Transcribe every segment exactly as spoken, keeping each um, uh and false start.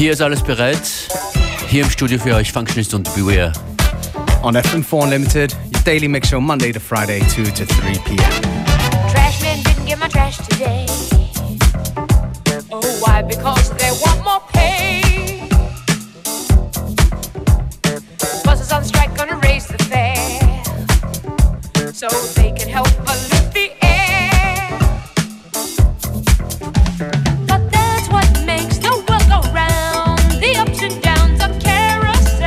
Hier ist alles bereit. Hier im Studio für euch Functionist und Beware. On F M four Unlimited, your daily mix show Monday to Friday, two to three p.m. Trashman didn't get my trash today. Oh, why? Because they want more pay. Buses on strike gonna raise the fare so they can help pollute the air. But that's what makes the world go round, the ups and downs of carousel,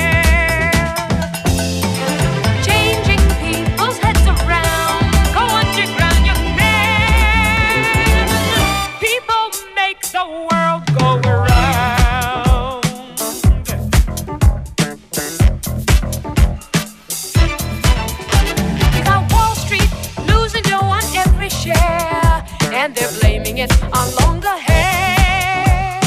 changing people's heads around. Go underground, young man. People make the world go around. You got Wall Street losing dough on every share, and they're blaming it on longer hair.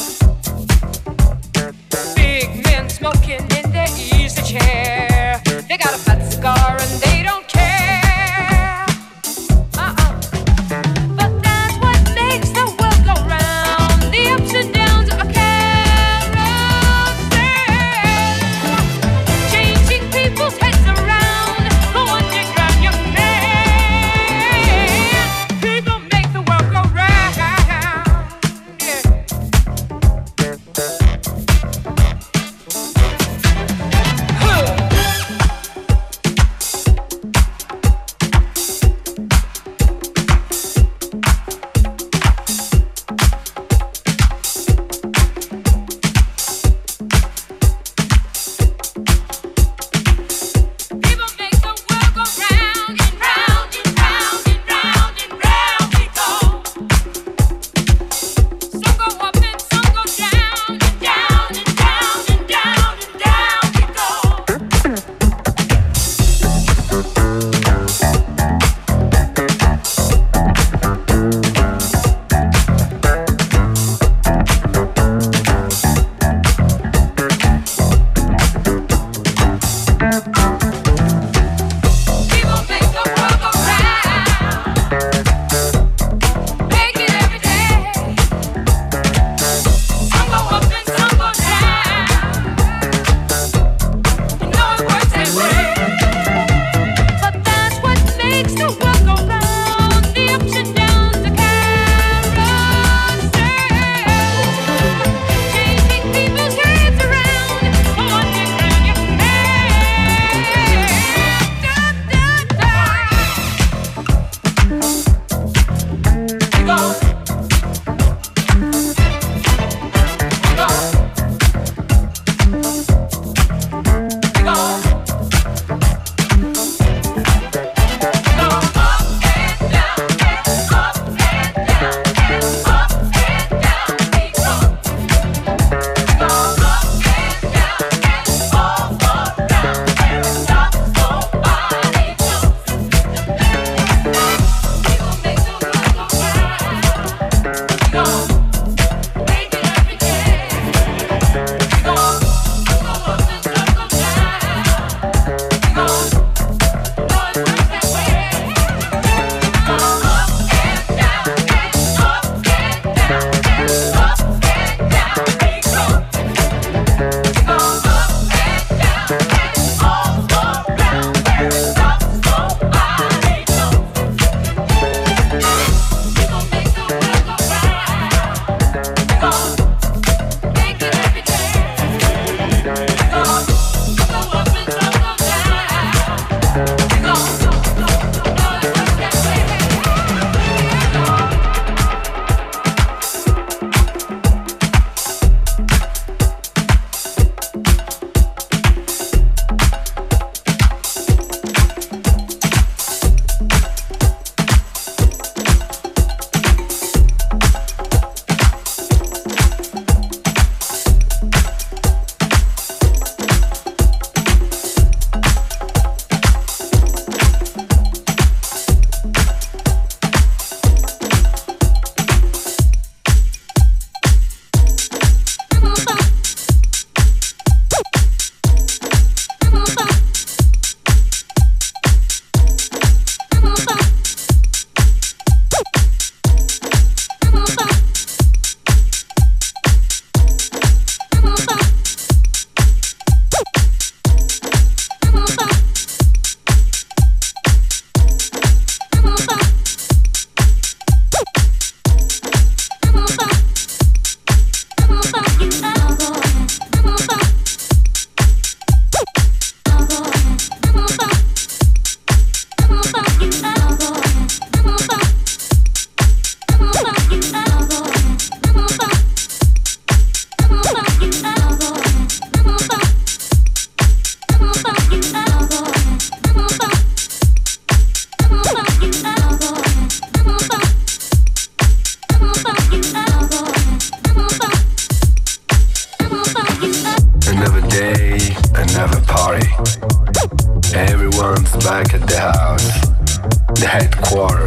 Big men smoking in their easy chair. They got a fat cigar and they don't care. Uh-uh. But that's what makes the world go round, the ups and downs of a carousel, changing people's heads around. Go underground, young man. People make the world go round. Yeah. Huh.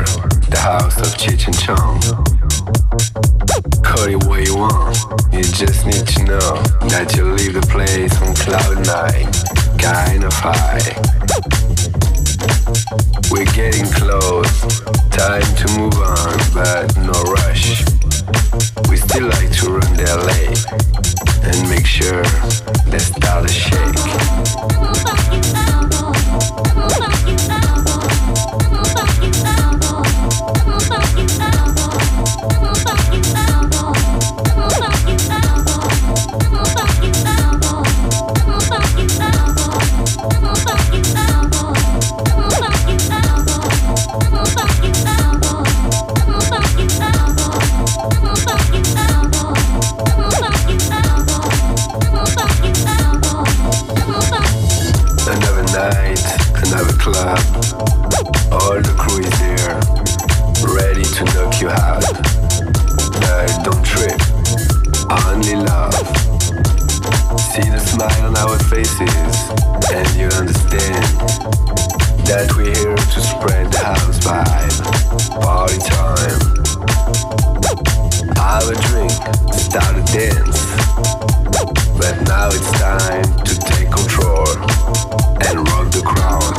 the house of Cheech and Chong. Call it what you want, you just need to know that you leave the place on cloud nine, kind of high. We're getting close, time to move on, but no rush. We still like to run the L A and make sure they start to shake. Club, all the crew is there, ready to knock you out. But don't trip, only love. See the smile on our faces, and you understand that we're here to spread the house vibe. Party time. Have a drink, start a dance. But now it's time to take control and rock the crowd.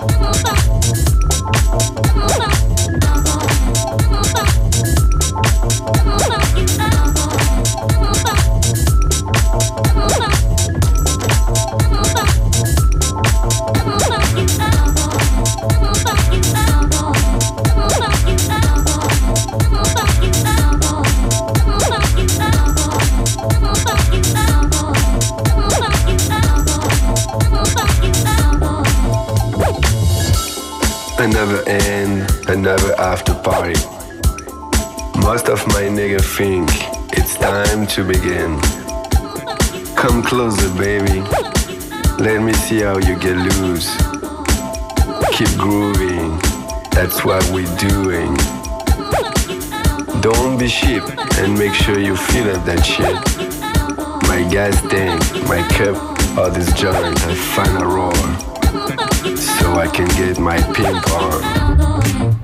Another end, another after party. Most of my niggas think it's time to begin. Come closer, baby. Let me see how you get loose. Keep grooving, that's what we're doing. Don't be cheap and make sure you feel up that shit. My gas tank, my cup, all this joint, I find a roar. So I can get my pimp on.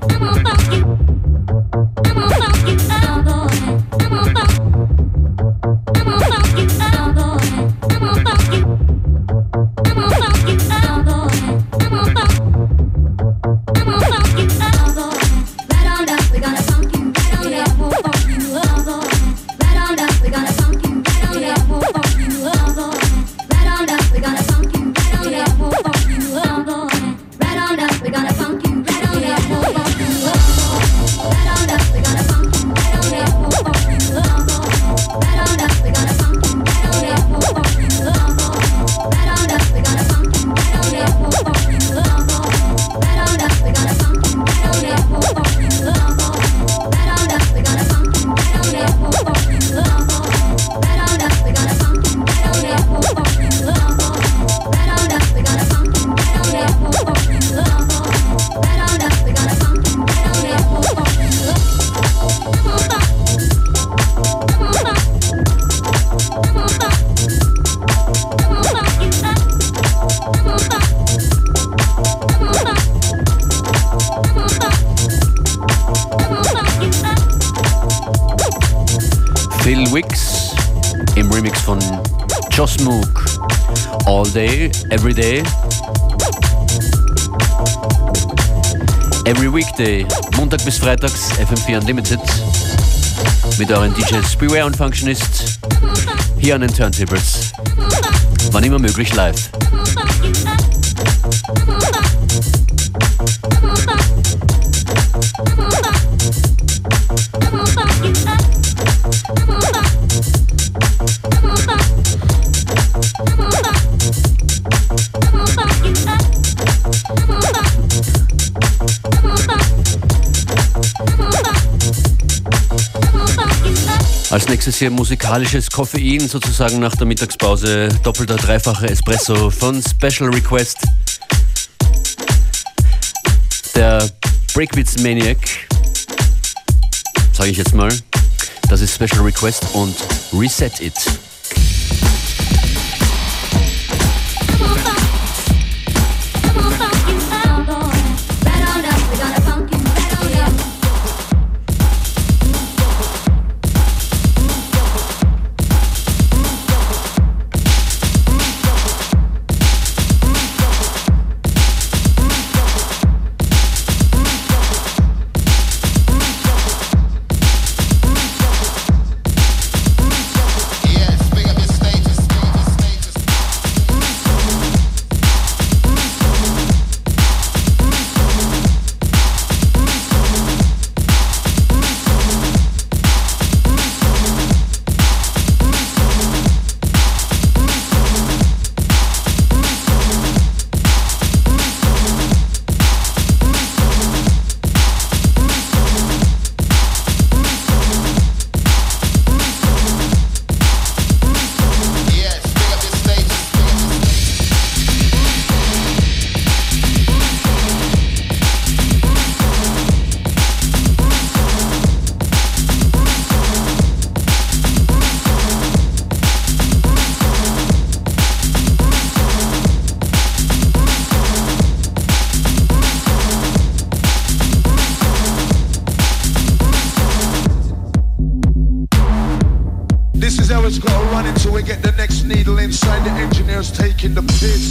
Phil Wicks im Remix von Joss Mook. All Day, Every Day. Every Weekday, Montag bis Freitags, F M vier Unlimited. Mit euren D Js Beware und Functionist. Hier an den Turntables. Wann immer möglich live. Als nächstes hier musikalisches Koffein, sozusagen nach der Mittagspause. Doppelter, dreifacher Espresso von Special Request. Der Breakbeats Maniac, sage ich jetzt mal. Das ist Special Request und Reset It. Right on up, we got a funky, right on up. This is how it's gotta run until we get the next needle inside the engineers taking the piss.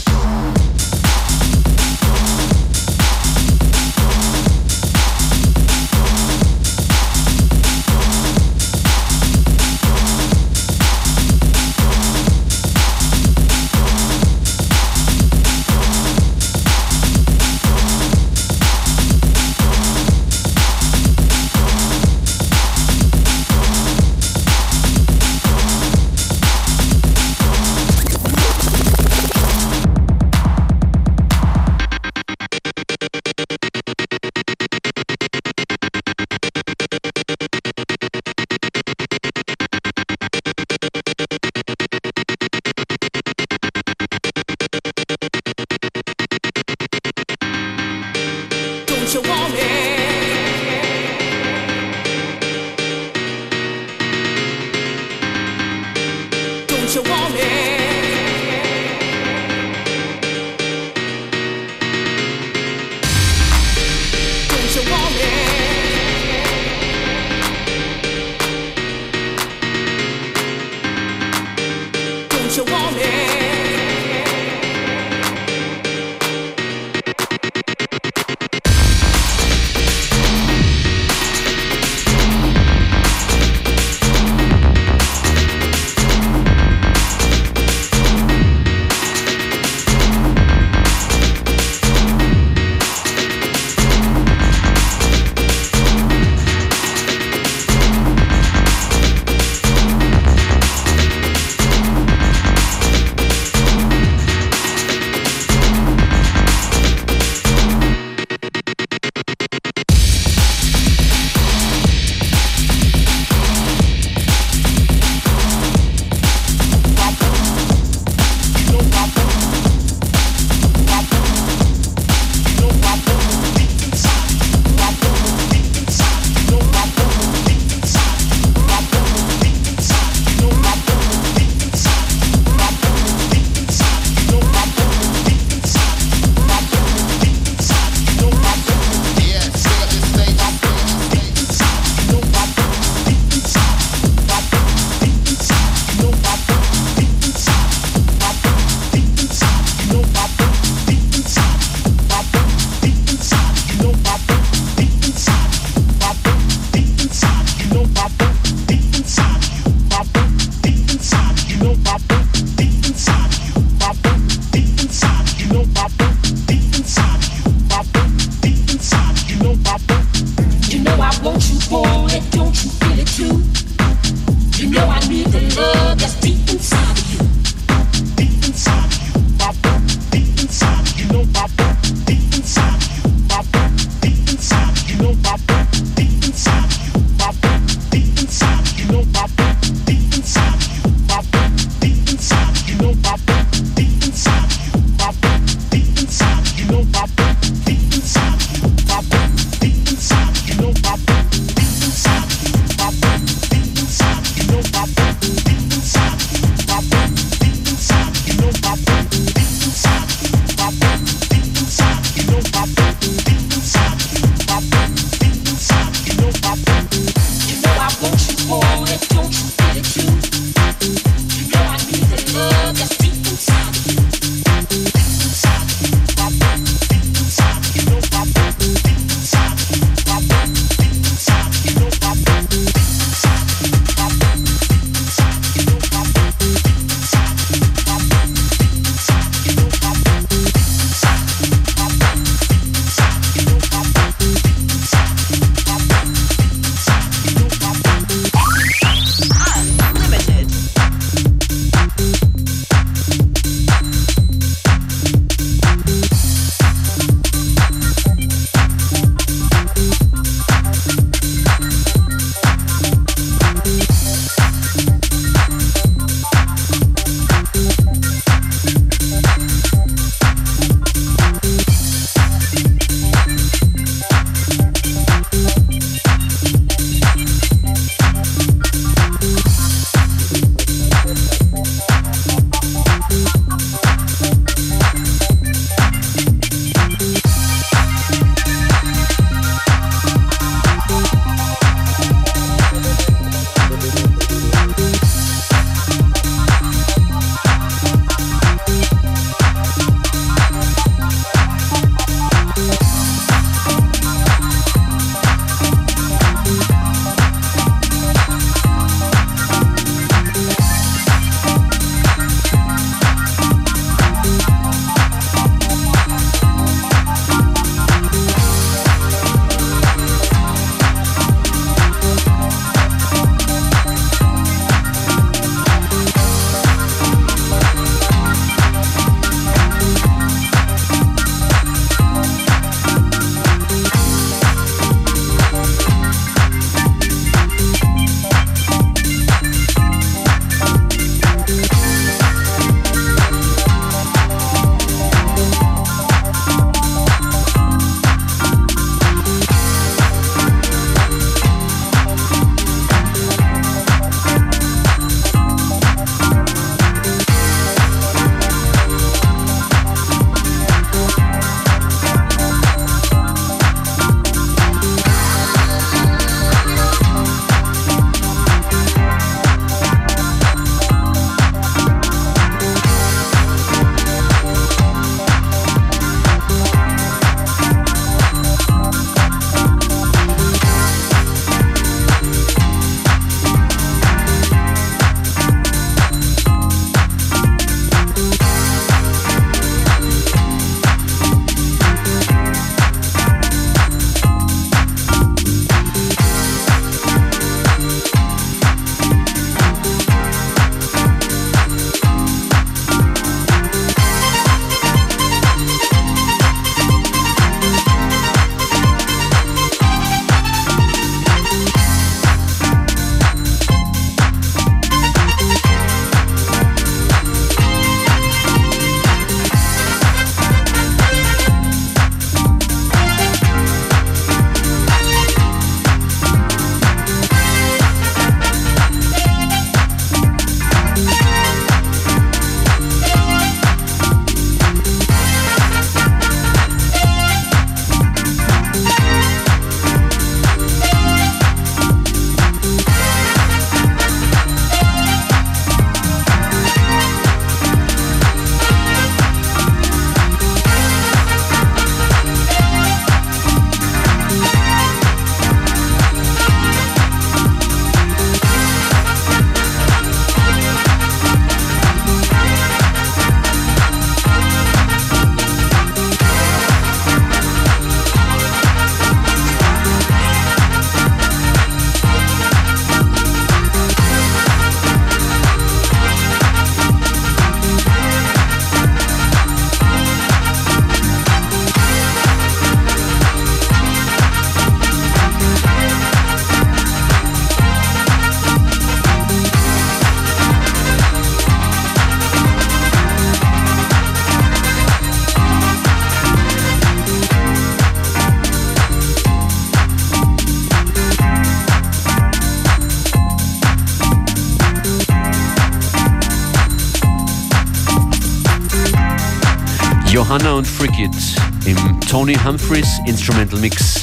Johanna und Freakit im Tony Humphries Instrumental Mix.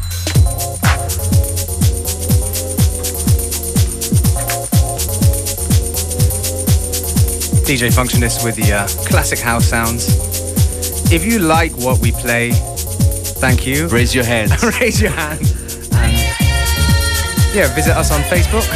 D J Functionist with the uh, classic house sounds. If you like what we play, thank you. Raise your hand. Raise your hand. And yeah, visit us on Facebook,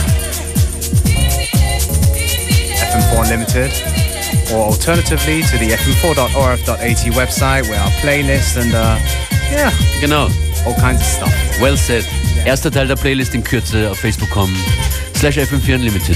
F M four Unlimited, or alternatively to the f m four dot o r f dot a t website where our playlist and uh, yeah, Genau. all kinds of stuff. Well said. Erster Teil der Playlist in Kürze auf Facebook kommen. Slash F M vier Unlimited.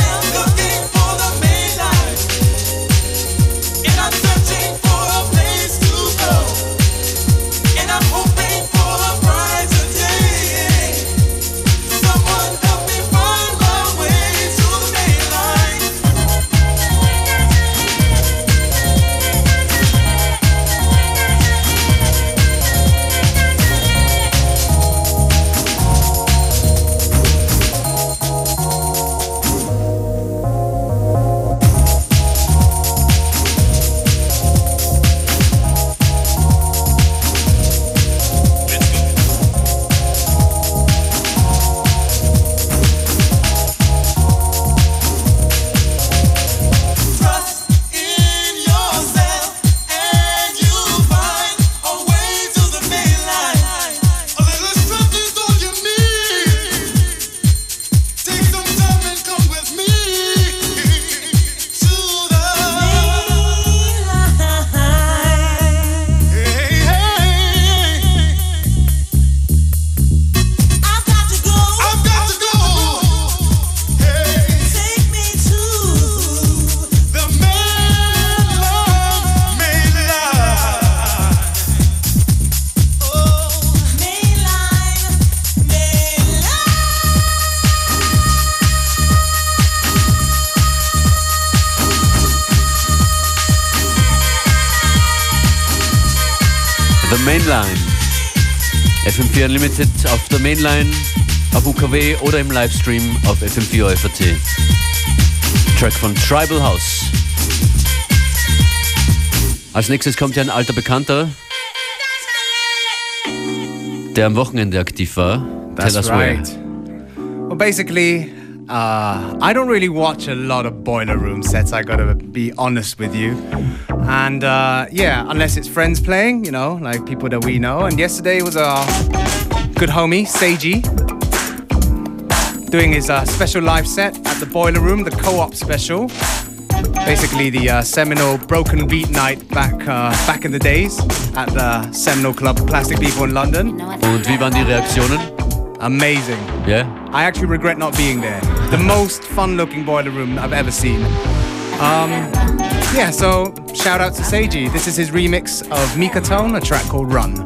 For a place Mainline. F M vier Unlimited auf der Mainline, auf U K W oder im Livestream auf F M vier O F A T. Track von Tribal House. Als nächstes kommt ja ein alter Bekannter, der am Wochenende aktiv war. That's Tell us right. where. Well, basically, uh, I don't really watch a lot of Boiler Room sets, I gotta be honest with you. And uh, yeah, unless it's friends playing, you know, like people that we know. And yesterday was our good homie, Seiji, doing his uh, special live set at the Boiler Room, the co-op special. Basically the uh, seminal Broken Beat night back uh, back in the days at the seminal club Plastic People in London. Und wie waren die Reaktionen? Amazing. Yeah? I actually regret not being there. The most fun-looking Boiler Room I've ever seen. Um, yeah, so shout out to Seiji. This is his remix of Mika Tone, a track called Run.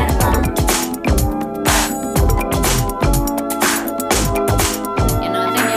You know, I think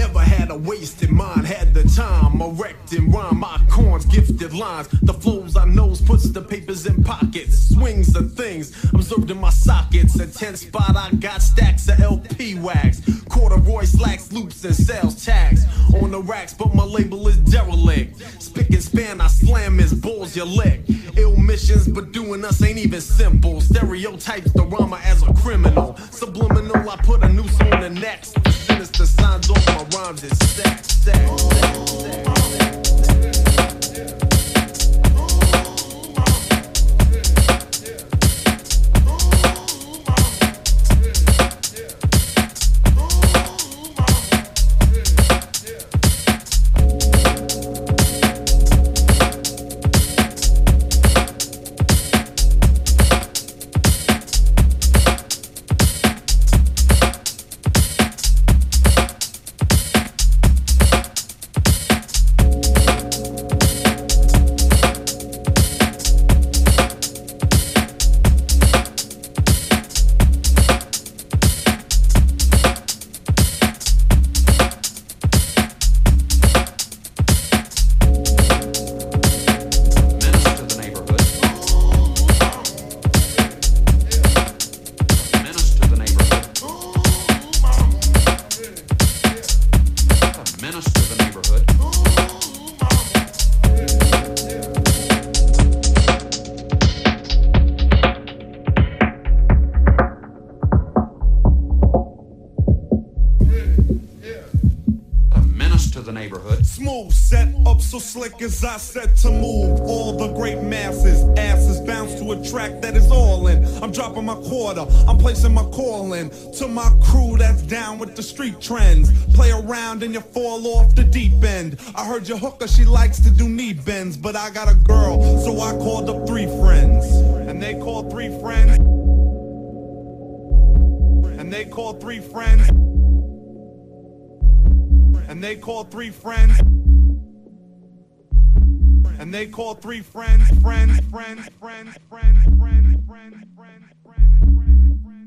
Never had a wasted mind, had the time. Erect and rhyme, my corns, gifted lines. The flows I knows puts the papers in pockets. Swings the things observed in my sockets. A ten spot, I got stacks of L P wax. Corduroy slacks, loops, and sales tags. On the racks, but my label is derelict. Spick and span, I slam his balls, you lick. Ill missions, but doing us ain't even simple. Stereotypes the rhymer as a criminal. Subliminal, I put a noose on the next. The sinister signs off my rhymes is stack, stack, stack, stack, stack. Slick as I said to move all the great masses, asses bounce to a track that is all in. I'm dropping my quarter, I'm placing my call in to my crew that's down with the street trends. Play around and you fall off the deep end. I heard your hooker, she likes to do knee bends, but I got a girl, so I called up three friends, and they called three friends, and they called three friends, and they called three friends. And they call three friends, friends, friends, friends, friends, friends, friends, friends, friends, friends, friends.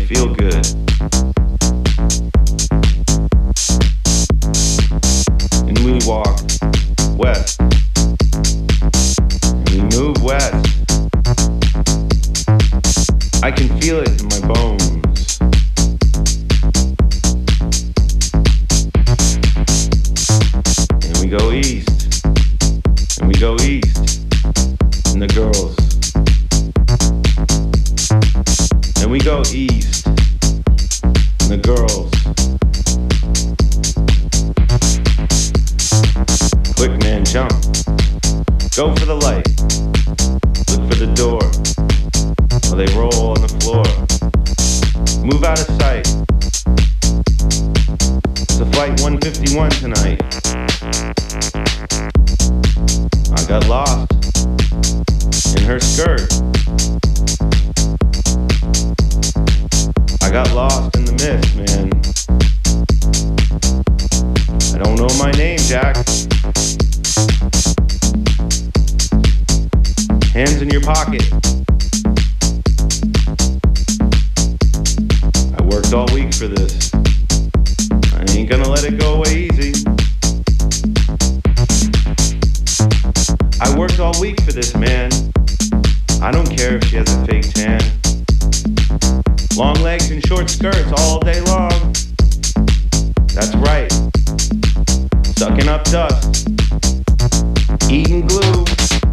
feel good. And we walk west. And we move west. I can feel it in my bones. And we go east. And we go east. And the girls. And we go east. And the girls. Quick man, jump. Go for the light. Look for the door. While they roll on the floor. Move out of sight. It's a flight one fifty-one tonight. I got lost in her skirt. I got lost in the mist, man. I don't know my name, Jack. Hands in your pocket. I worked all week for this. I ain't gonna let it go away easy. I worked all week for this, man. I don't care if she has a fake tan. Long legs and short skirts all day long. That's right. Sucking up dust. Eating glue.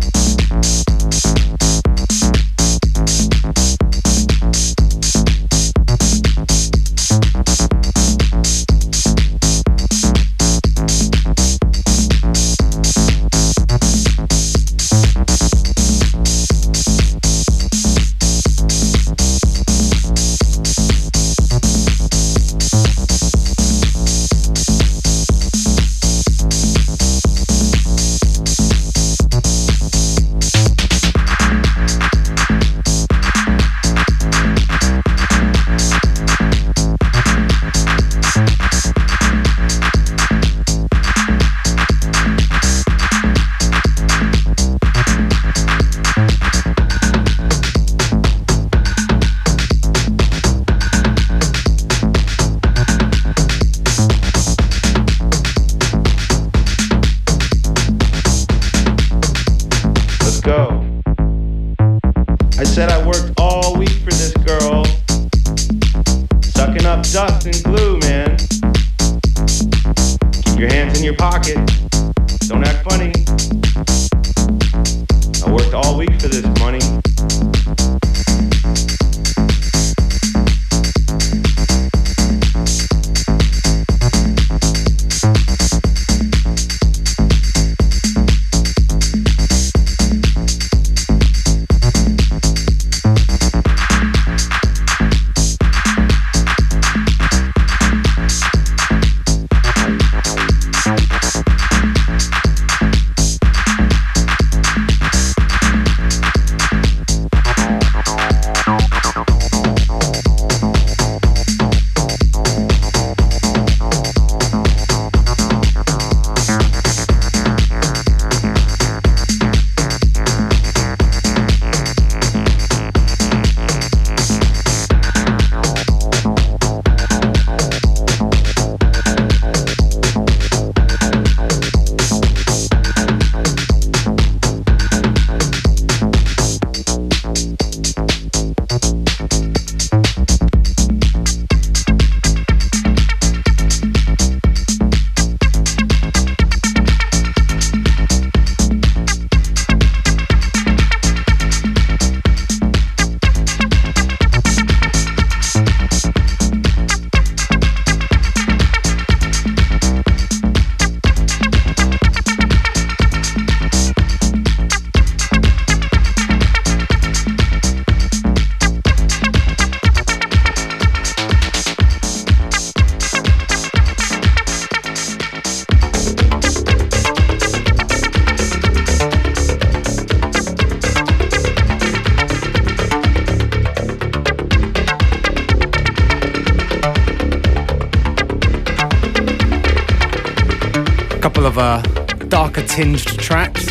couple of uh, darker tinged tracks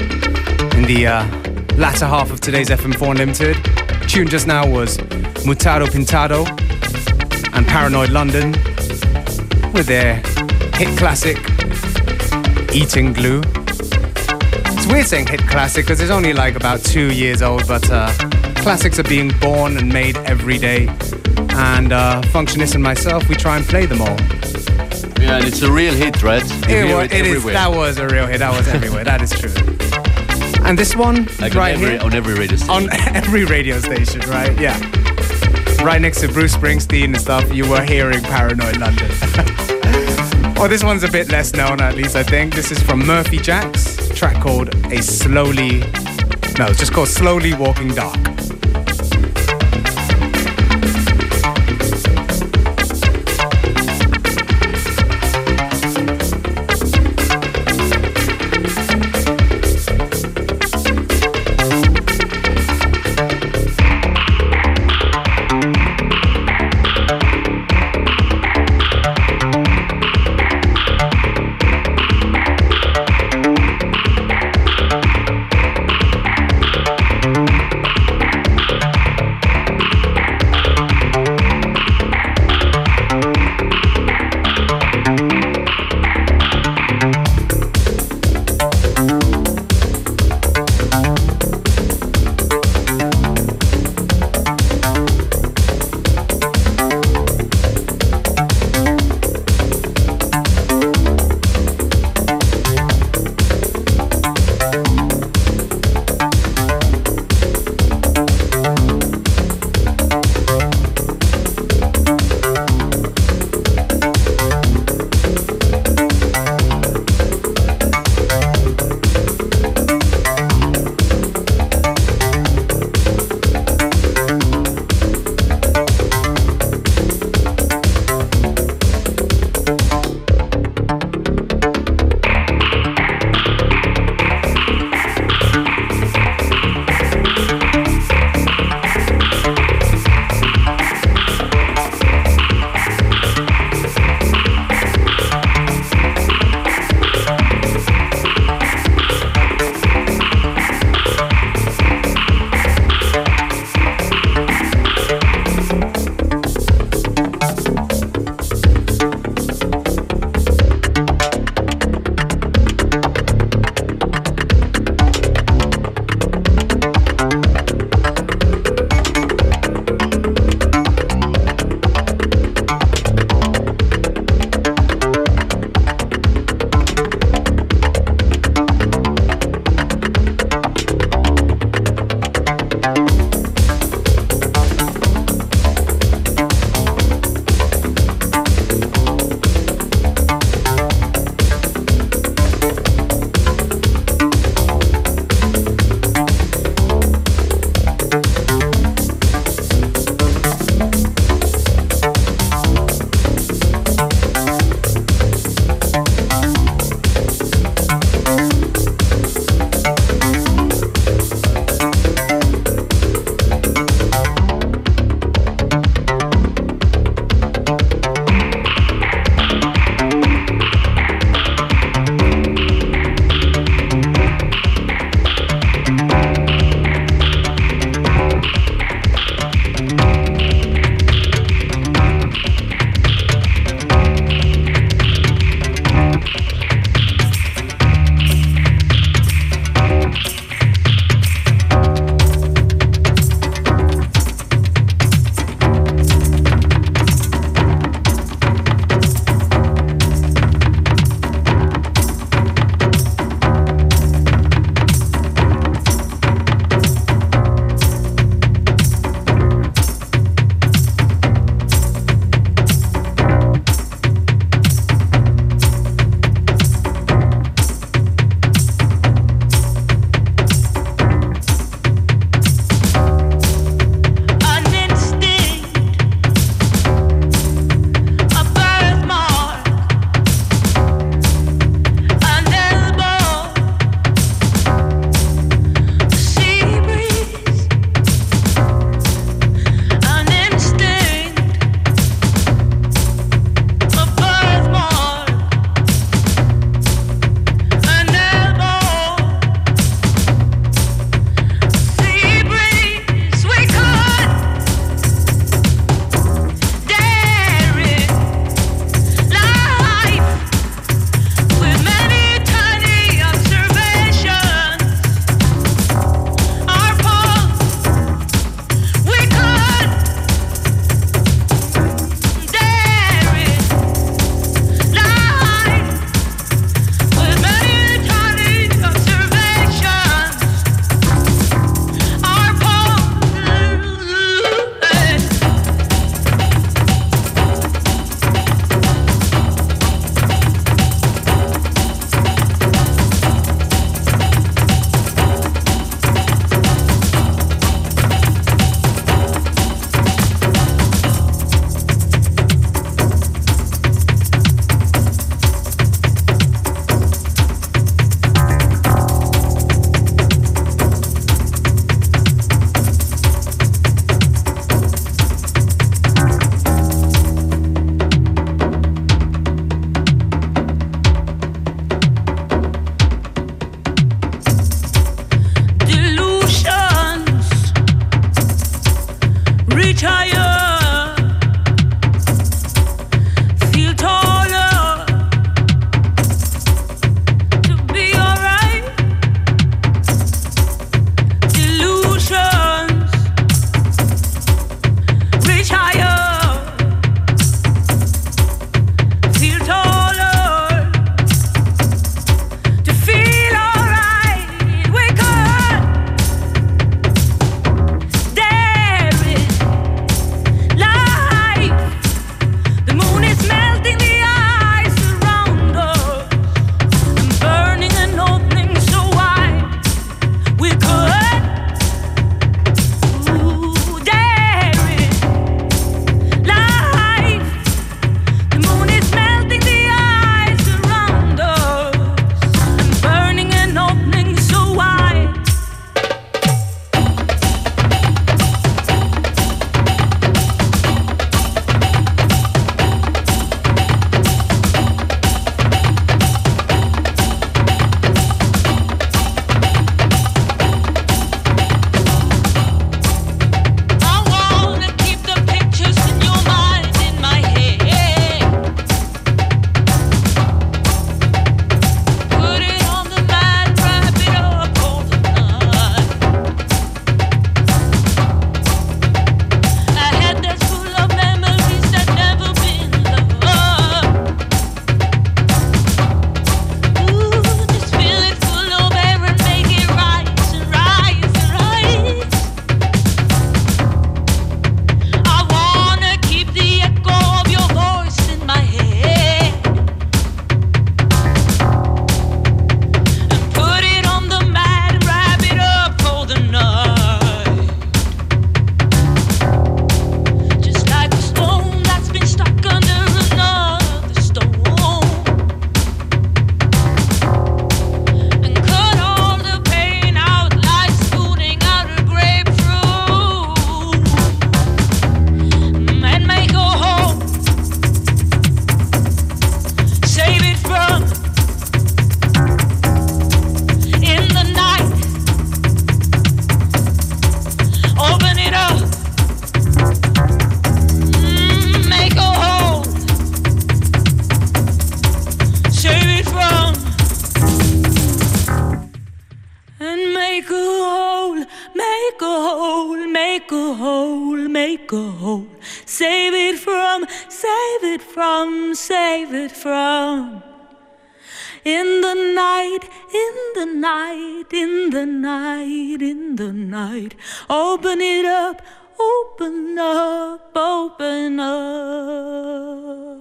in the uh, latter half of today's F M four Unlimited. Tune just now was Mutado Pintado and Paranoid London with their hit classic, Eating Glue. It's weird saying hit classic because it's only like about two years old, but uh, classics are being born and made every day. And uh, Functionist and myself, we try and play them all. Yeah, and it's a real hit, right? You It, hear wa- it it is. everywhere. That was a real hit. That was everywhere. That is true. And this one, Like right on, every, here, on every radio station. on every radio station, right? Yeah. Right next to Bruce Springsteen and stuff, you were hearing Paranoid London. Well, this one's a bit less known, at least I think. This is from Murphy Jacks, a track called A Slowly... No, it's just called Slowly Walking Dark. Thank it from, save it from, save it from. In the night, in the night, in the night, in the night. Open it up, open up, open up.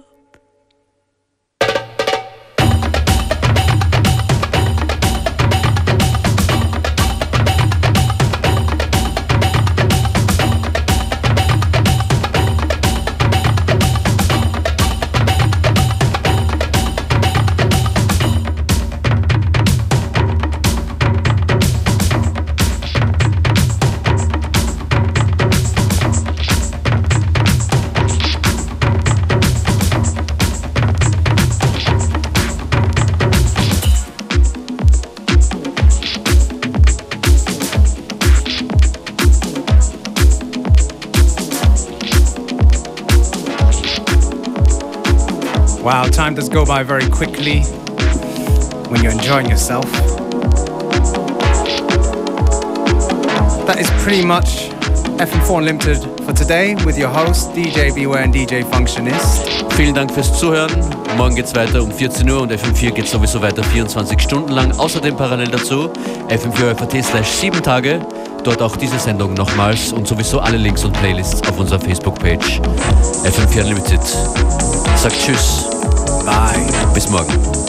Wow, time does go by very quickly when you're enjoying yourself. That is pretty much F M four Unlimited for today with your host D J Beware and D J Functionist. Vielen Dank fürs Zuhören. Morgen geht's weiter um vierzehn Uhr und F M vier geht sowieso weiter vierundzwanzig Stunden lang. Außerdem parallel dazu F M vier F A T slash sieben Tage. Dort auch diese Sendung nochmals und sowieso alle Links und Playlists auf unserer Facebook-Page F M vier Unlimited. Sagt Tschüss. Bye. Bis morgen.